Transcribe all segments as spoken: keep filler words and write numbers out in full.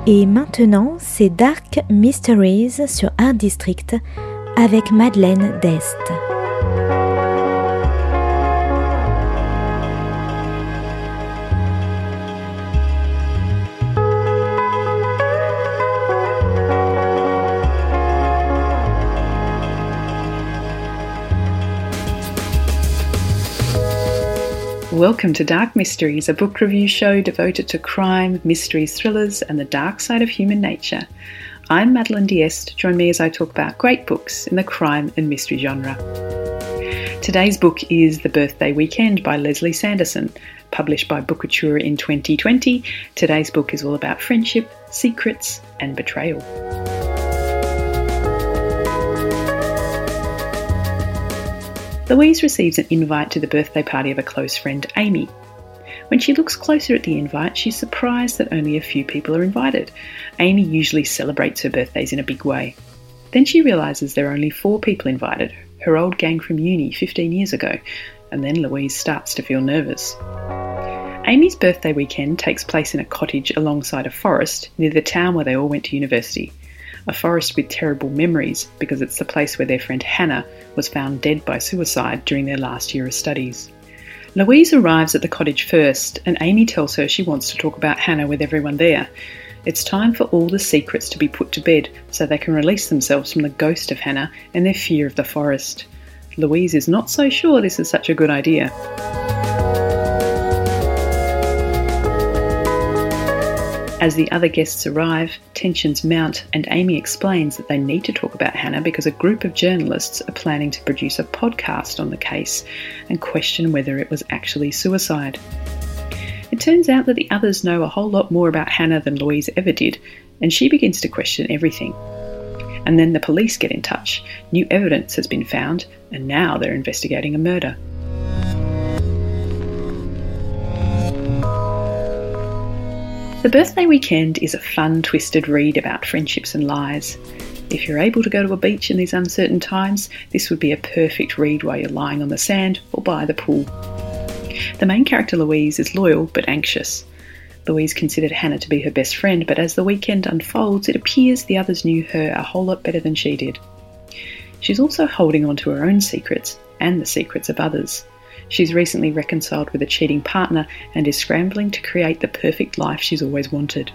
Et maintenant, c'est Dark Mysteries sur Art District avec Madeleine Dest. Welcome to Dark Mysteries, a book review show devoted to crime, mysteries, thrillers, and the dark side of human nature. I'm Madeleine D'Este. Join me as I talk about great books in the crime and mystery genre. Today's book is The Birthday Weekend by Leslie Sanderson, published by Bookouture in twenty twenty. Today's book is all about friendship, secrets, and betrayal. Louise receives an invite to the birthday party of a close friend, Amy. When she looks closer at the invite, she's surprised that only a few people are invited. Amy usually celebrates her birthdays in a big way. Then she realises there are only four people invited, her old gang from uni fifteen years ago, and then Louise starts to feel nervous. Amy's birthday weekend takes place in a cottage alongside a forest near the town where they all went to university. A forest with terrible memories because it's the place where their friend Hannah was found dead by suicide during their last year of studies. Louise arrives at the cottage first, and Amy tells her she wants to talk about Hannah with everyone there. It's time for all the secrets to be put to bed so they can release themselves from the ghost of Hannah and their fear of the forest. Louise is not so sure this is such a good idea. As the other guests arrive, tensions mount, and Amy explains that they need to talk about Hannah because a group of journalists are planning to produce a podcast on the case and question whether it was actually suicide. It turns out that the others know a whole lot more about Hannah than Louise ever did, and she begins to question everything. And then the police get in touch. New evidence has been found, and now they're investigating a murder. The Birthday Weekend is a fun, twisted read about friendships and lies. If you're able to go to a beach in these uncertain times, this would be a perfect read while you're lying on the sand or by the pool. The main character, Louise, is loyal but anxious. Louise considered Hannah to be her best friend, but as the weekend unfolds, it appears the others knew her a whole lot better than she did. She's also holding on to her own secrets and the secrets of others. She's recently reconciled with a cheating partner and is scrambling to create the perfect life she's always wanted.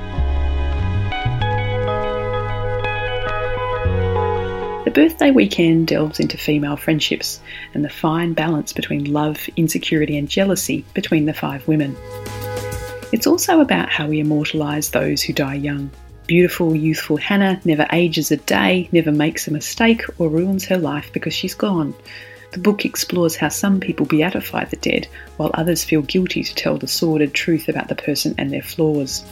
The Birthday Weekend delves into female friendships and the fine balance between love, insecurity and jealousy between the five women. It's also about how we immortalise those who die young. Beautiful, youthful Hannah never ages a day, never makes a mistake or ruins her life because she's gone. The book explores how some people beatify the dead, while others feel guilty to tell the sordid truth about the person and their flaws.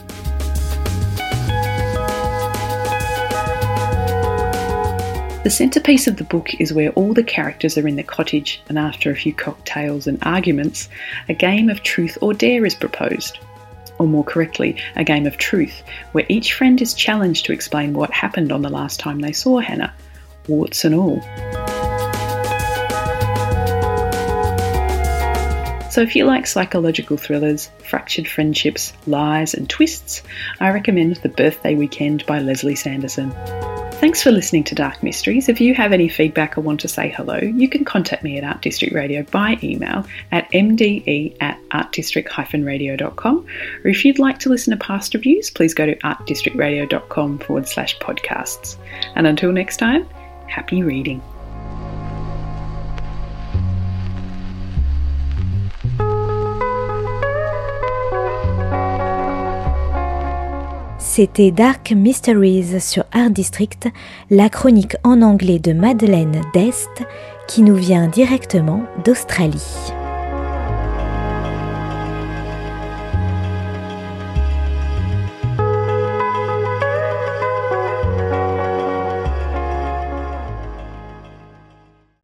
The centrepiece of the book is where all the characters are in the cottage, and after a few cocktails and arguments, a game of truth or dare is proposed. Or more correctly, a game of truth, where each friend is challenged to explain what happened on the last time they saw Hannah, warts and all. So if you like psychological thrillers, fractured friendships, lies and twists, I recommend The Birthday Weekend by Leslie Sanderson. Thanks for listening to Dark Mysteries. If you have any feedback or want to say hello, you can contact me at Art District Radio by email at m d e at art district dash radio dot com, or if you'd like to listen to past reviews, please go to artdistrictradio.com forward slash podcasts. And until next time, happy reading. C'était Dark Mysteries sur Art District, la chronique en anglais de Madeleine Dest qui nous vient directement d'Australie.